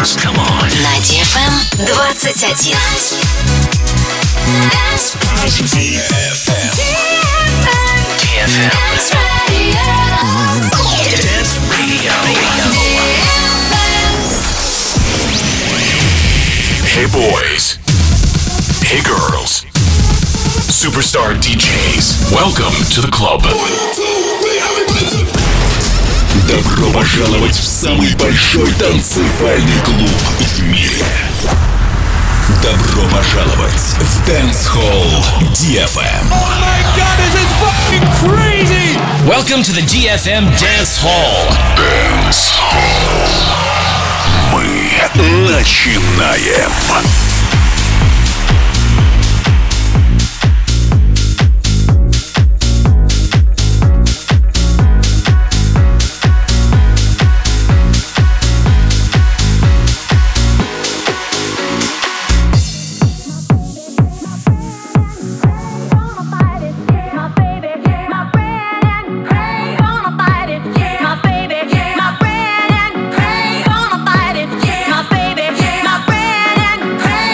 dance. Come on. На DFM 21. DFM. Dance Radio. Hey boys. Hey girls. Superstar DJs. Welcome to the club. Добро пожаловать в самый большой танцевальный клуб в мире. Добро пожаловать в Dance Hall DFM. Oh my God, this is fucking crazy! Welcome to the DFM Dance Hall. Dance Hall. Мы начинаем. My baby, my friend, and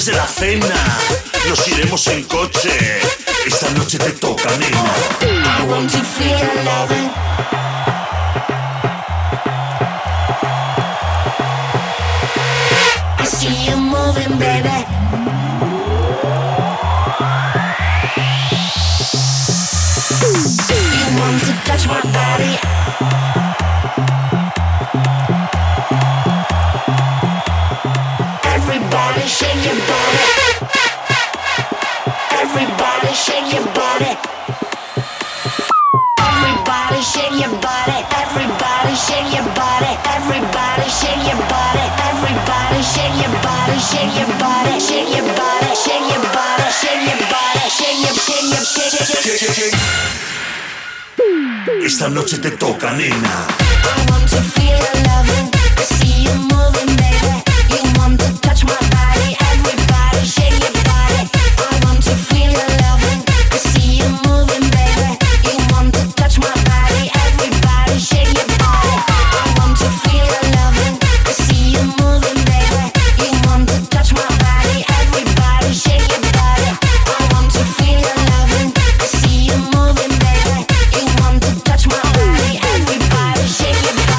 después de la cena nos iremos en coche. Esta noche te toca, nena. I want to feel loving. I see you moving, baby. You want to touch my body. Everybody shake your body. Everybody shake your body. Everybody shake your body. Everybody shake your body. Everybody shake your body. Everybody shake your body. Shake your body. Shake your body. Shake your body. Shake your body. Shake your. Esta noche te toca, nena. I want to feel loving. I see you moving, baby. You want to touch my body. Everybody shake your body. I want to feel loving. I see you moving, baby. You want to touch my body. Everybody shake your body. I want to feel loving. I see you moving, baby. You want to touch my body. Everybody shake your body. I want to feel loving. I see you moving, baby. You want to touch my body. Everybody shake your body.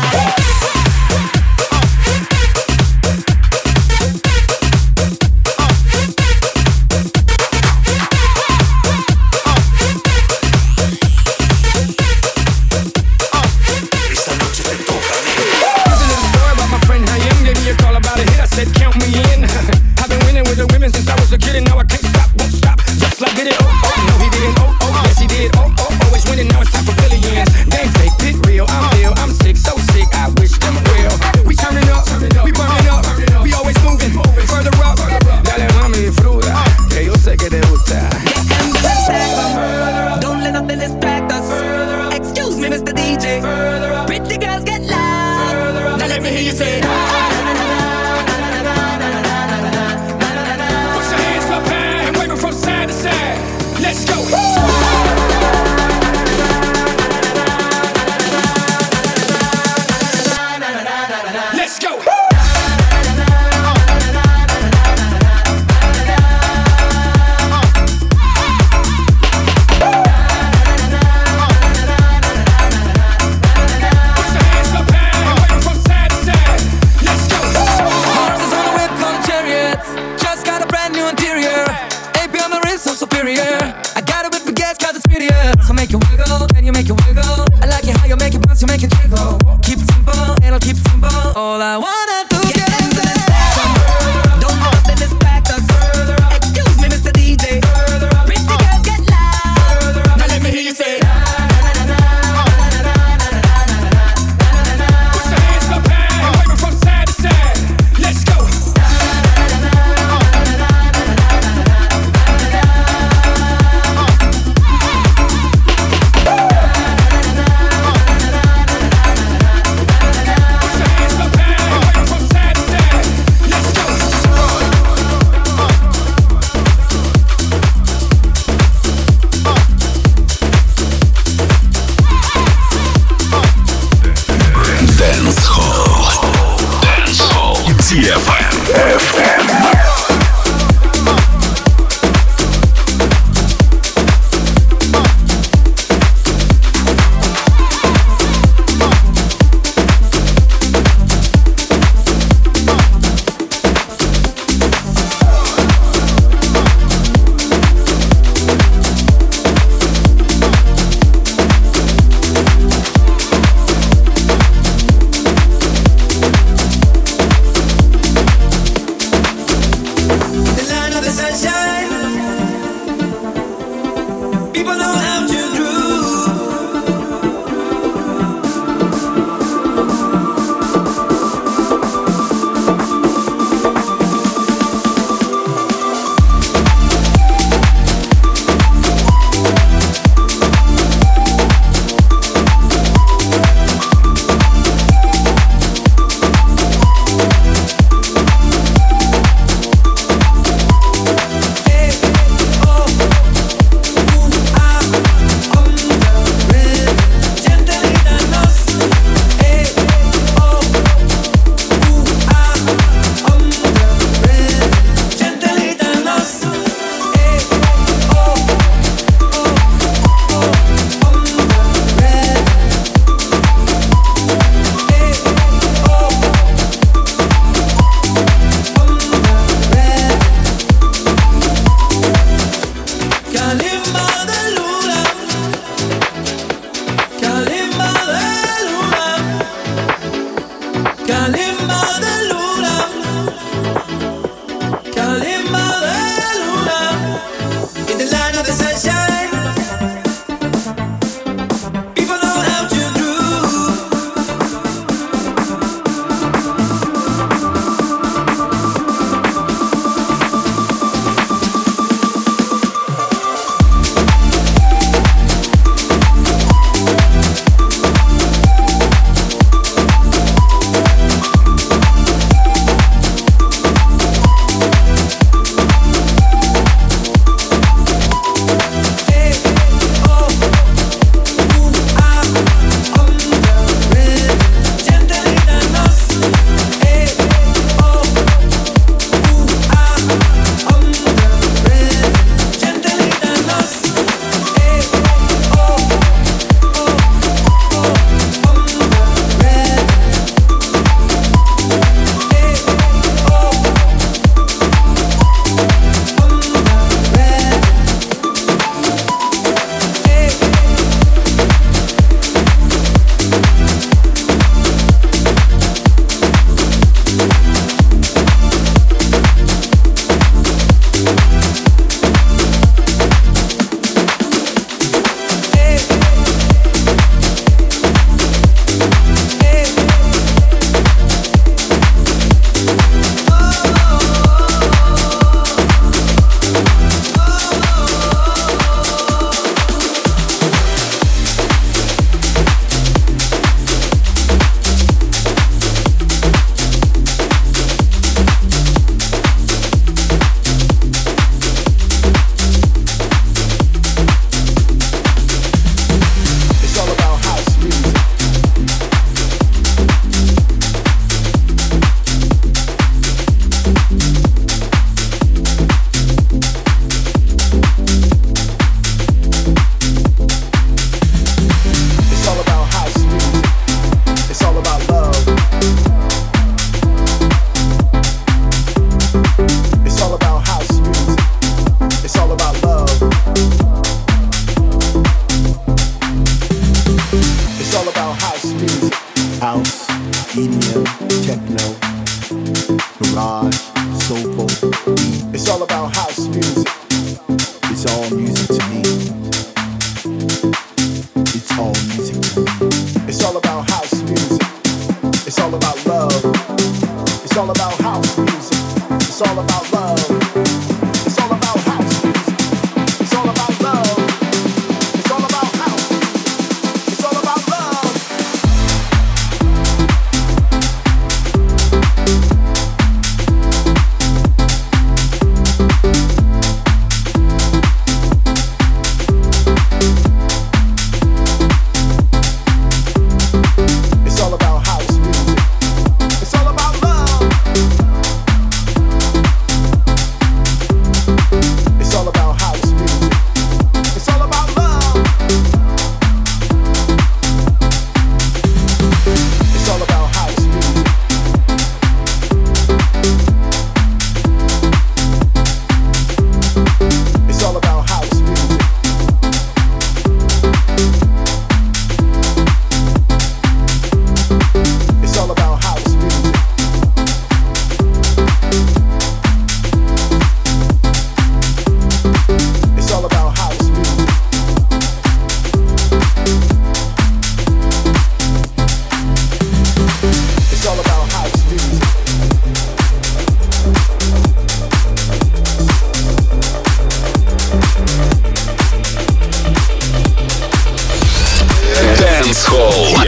EDM, techno, garage, soulful. It's all about house music. It's all music to me. It's all music to me. It's all about house music. It's all about love. It's all about house music. It's all about love. It's all about house music. It's all about love. It's all about house music. It's all about love. It's all about house music. It's all about love. It's all about house music. It's all about love. It's all about house music. It's all about house music. It's all about house music. It's all about house music. It's all about house music. Dance Hall.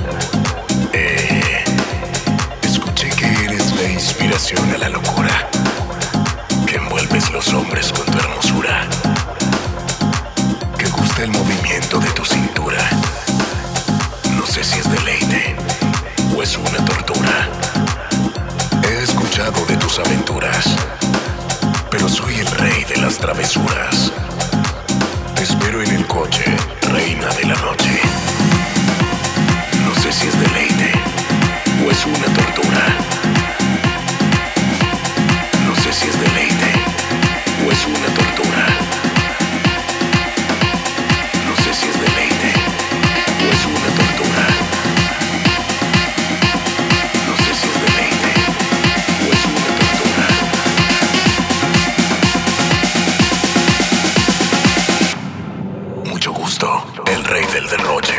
inspiración a la locura. los hombres con tu hermosura, que gusta el movimiento de tu cintura. No sé si es deleite o es una tortura. He escuchado de tus aventuras, pero soy el rey de las travesuras. Te espero en el coche, reina de la noche. No sé si es deleite o es una tortura. No sé si es deleite o es una tortura. No sé si es deleite o es una tortura. No sé si es deleite o es una tortura. Mucho gusto, el rey del derroche.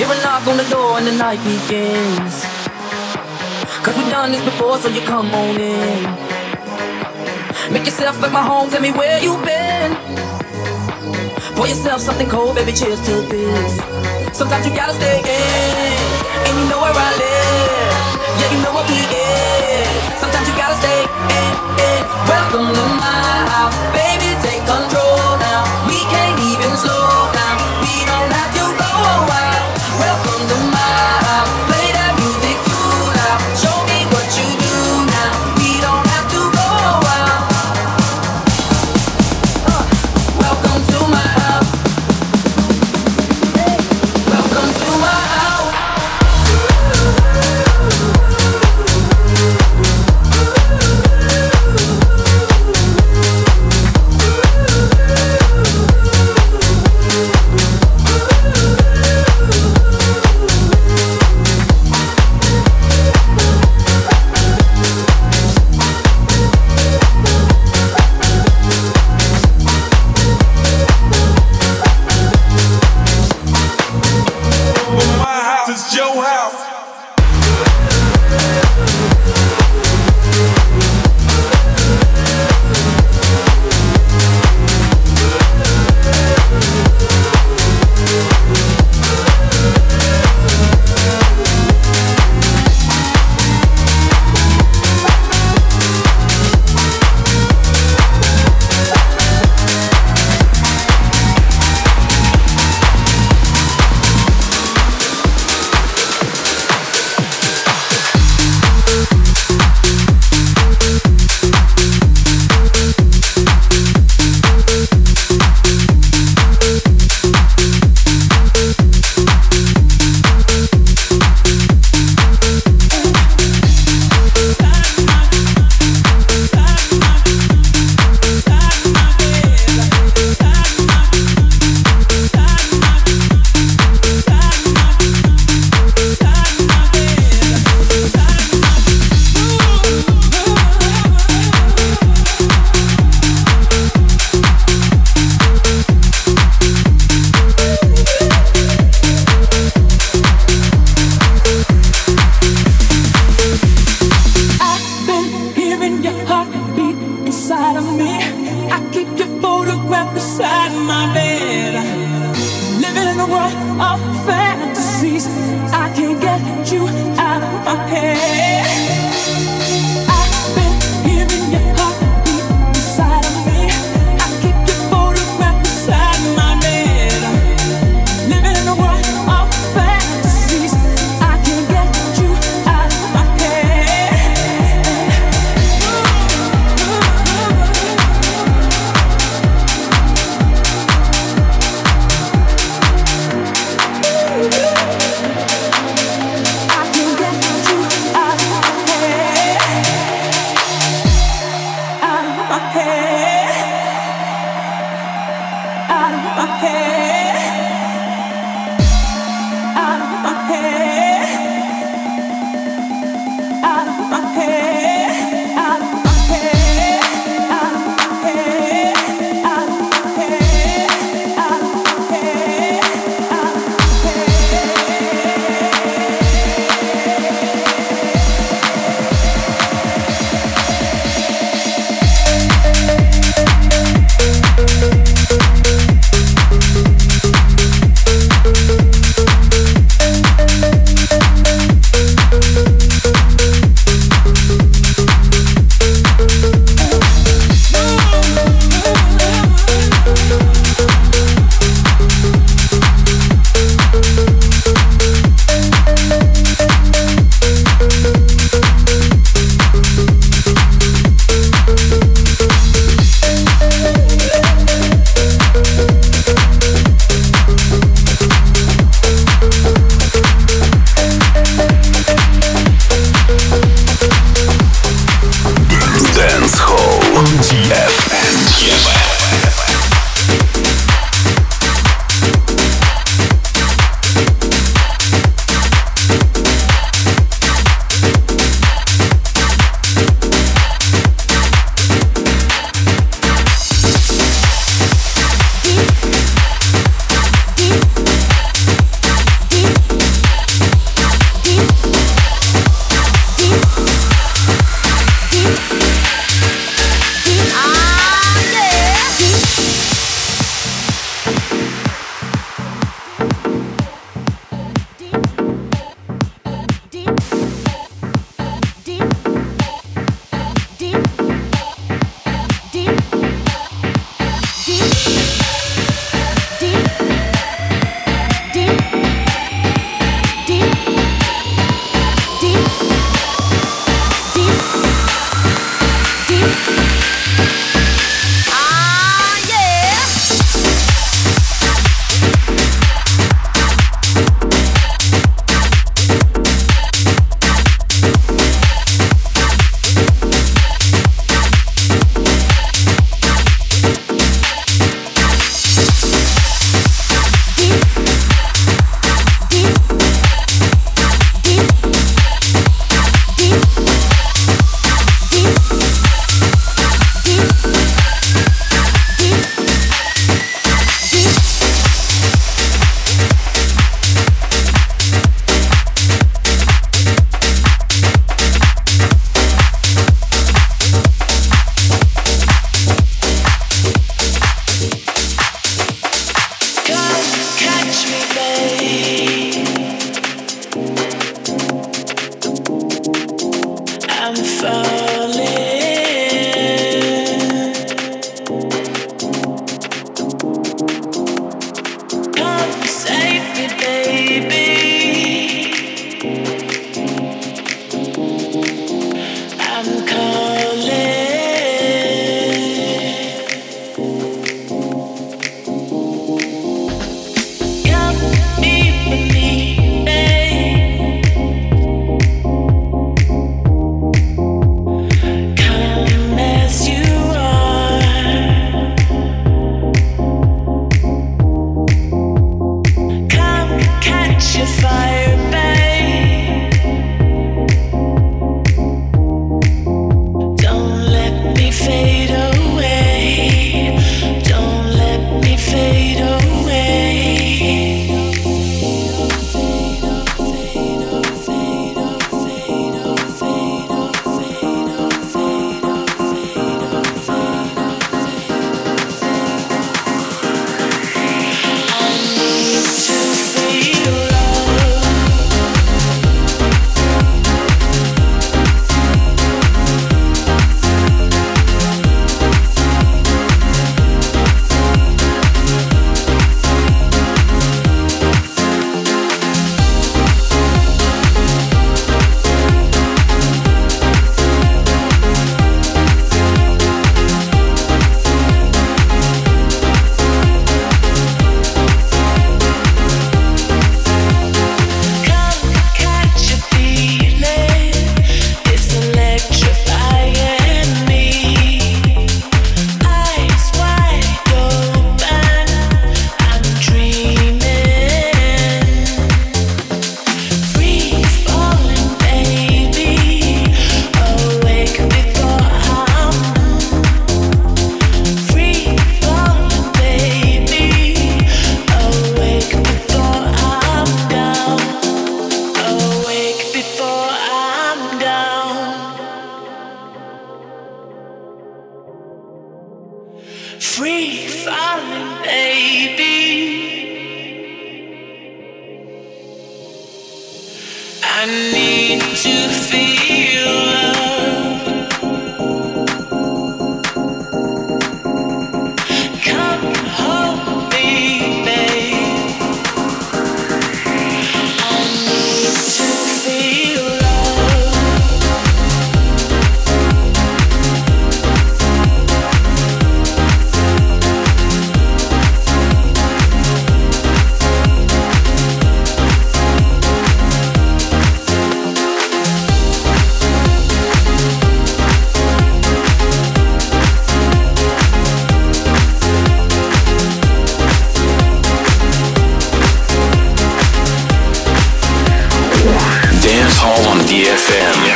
Hear a knock on the door and the night begins. 'Cause we've done this before, so you come on in. Make yourself like my home, tell me where you've been. Pour yourself something cold, baby, cheers to this. Sometimes you gotta stay in, and you know where I live. Yeah, you know what we is. Sometimes you gotta stay in. Welcome to my house, baby, take control now. We can't even slow down, we don't have to go wild. Welcome to my house, play that music too loud. Show me what you do now, we don't have to go wild. Welcome to my house. Welcome to my house. It's your house. I need to feel loved. Come hold me, babe. I need to feel love. Dance Hall on DFM.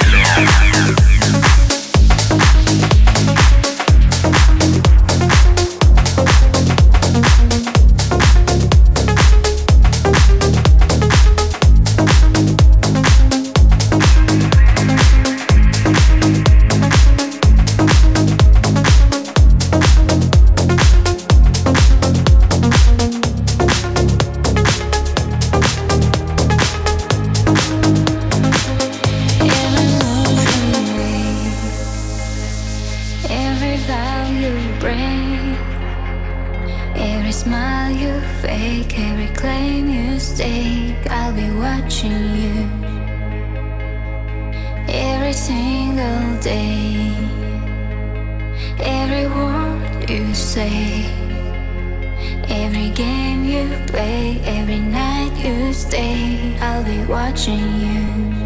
Every vow you break, every smile you fake, every claim you stake, I'll be watching you every single day. Every word you say, every game you play, every night you stay, I'll be watching you.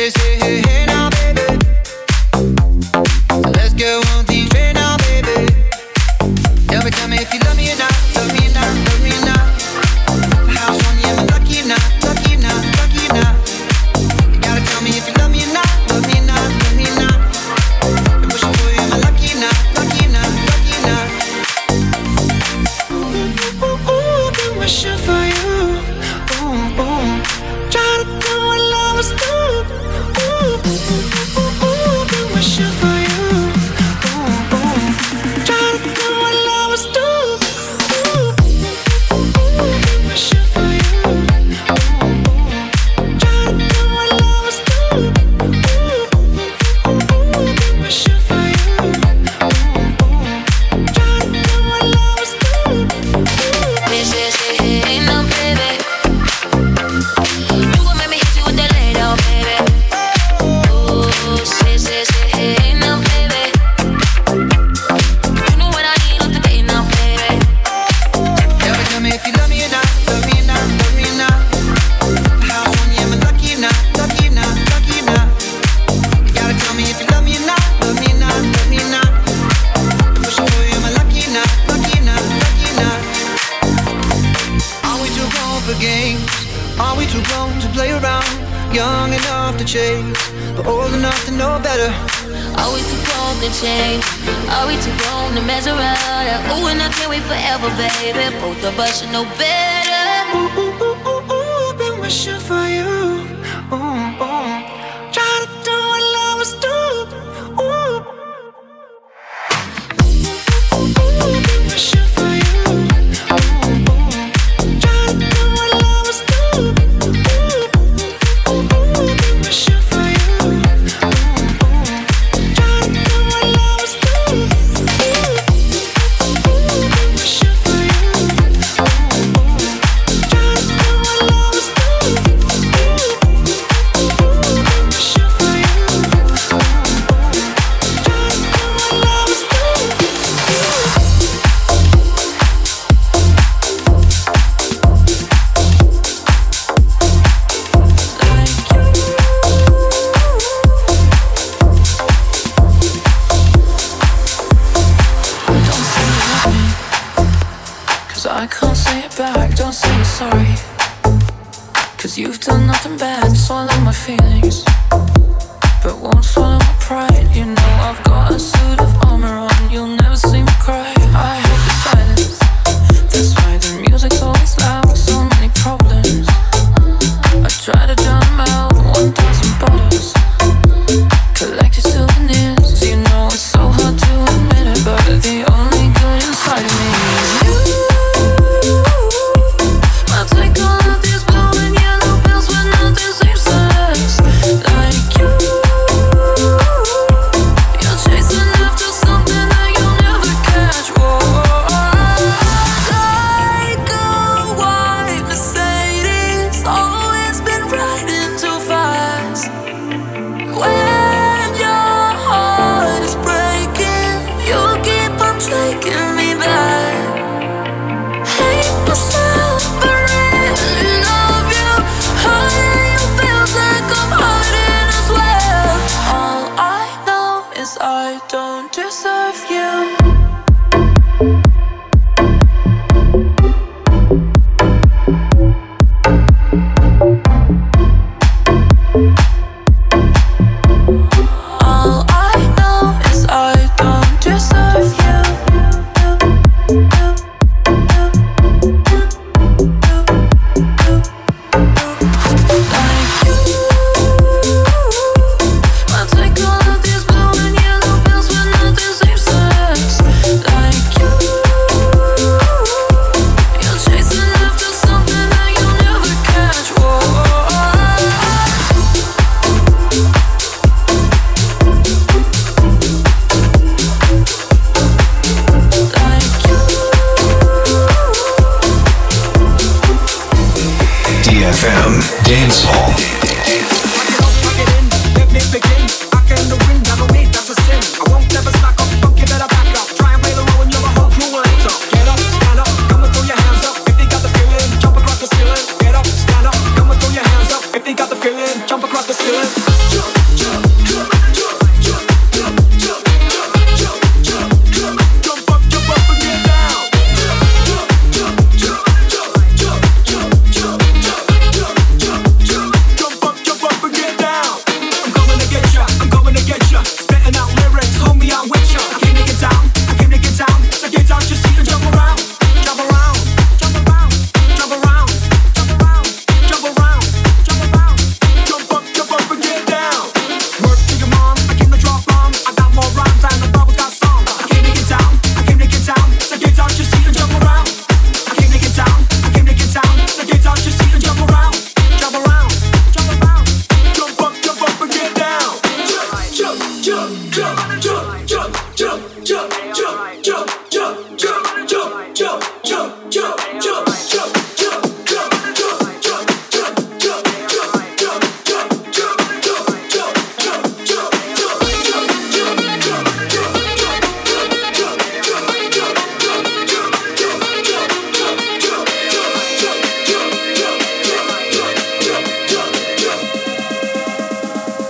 say, hey, hey now, baby. So let's go on the train now, baby. Tell me if you love me or not, love me or not, love me or not. House on you, am I lucky or not, lucky or not, lucky or not? You gotta tell me if you love me or not, love me or not, love me or not. I'm wishing for you, am I lucky or not, lucky or not, lucky or not? Ooh, been wishing for you. Ooh, ooh. Try to do what lovers do. Ooh, been wishing for you. Ooh, ooh. Try to do what lovers do. Ooh, been wishing for you. Ooh, try to do what lovers do. Ooh, been wishing for you. Try to do what lovers do. Hey, no, baby. You gon' make me hit you with that lay down, baby. Ooh, say, hey, no, baby. You know what I need on the day now, baby. Tell me if you love me or not, love me or not, love me or not. House on you, am I lucky or not, lucky or not, lucky or not? You gotta tell me if you love me or not, love me or not, love me or not. I'm wishing for you, am I lucky or not, lucky or not, lucky or not? Are we too grown for games? Are we too grown to play around? Young enough to chase, but old enough to know better. Are we too grown to change? Are we too grown to mess around? Ooh, and I can't wait forever, baby. Both of us should know better. Ooh, ooh, ooh, ooh, ooh, been wishing for you. Ooh, ooh. Try to do what lovers do. Ooh, been wishing for you. Ooh, ooh. Try to do what lovers do. Ooh, been wishing for you. Ooh, try to do what lovers do. Been wishing for you. Try to do what lovers do. Been wishing for you. Try to do what lovers do. Cause I can't say it back, don't say you're sorry. Cause you've done nothing bad, swallow my feelings, but won't swallow my pride. You know I've got a suit of armor on, you'll never see me cry. I hate the silence, that's why the music's always loud. So many problems, I try to drown them out. 1,000 bottles, collected souvenirs. You know it's so hard to admit it, but the only good inside of me is you. I'll take all of these blue and yellow pills when nothing seems to last like you. You're chasing after something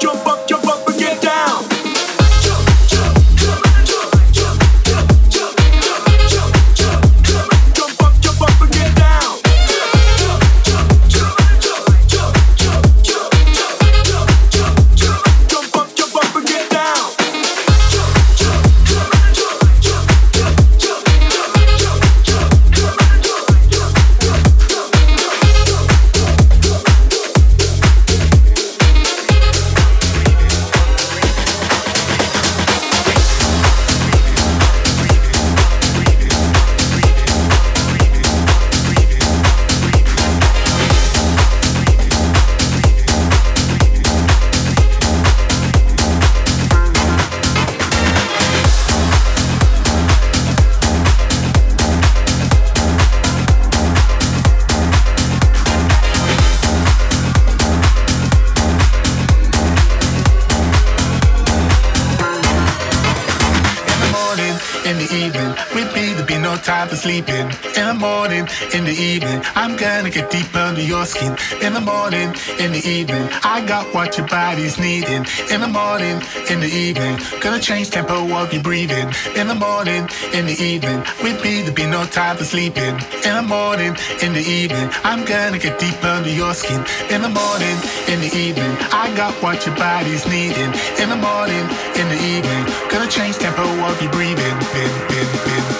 jump up and get down. Time for sleeping. In the morning, in the evening, I'm gonna get deep under your skin. In the morning, in the evening, I got what your body's needing. In the morning, in the evening, gonna change tempo of your breathing. In the morning, in the evening, with me there'll be no time for sleeping. In the morning, in the evening, I'm gonna get deep under your skin. In the morning, in the evening, I got what your body's needing. In the morning, in the evening, gonna change tempo of your breathing.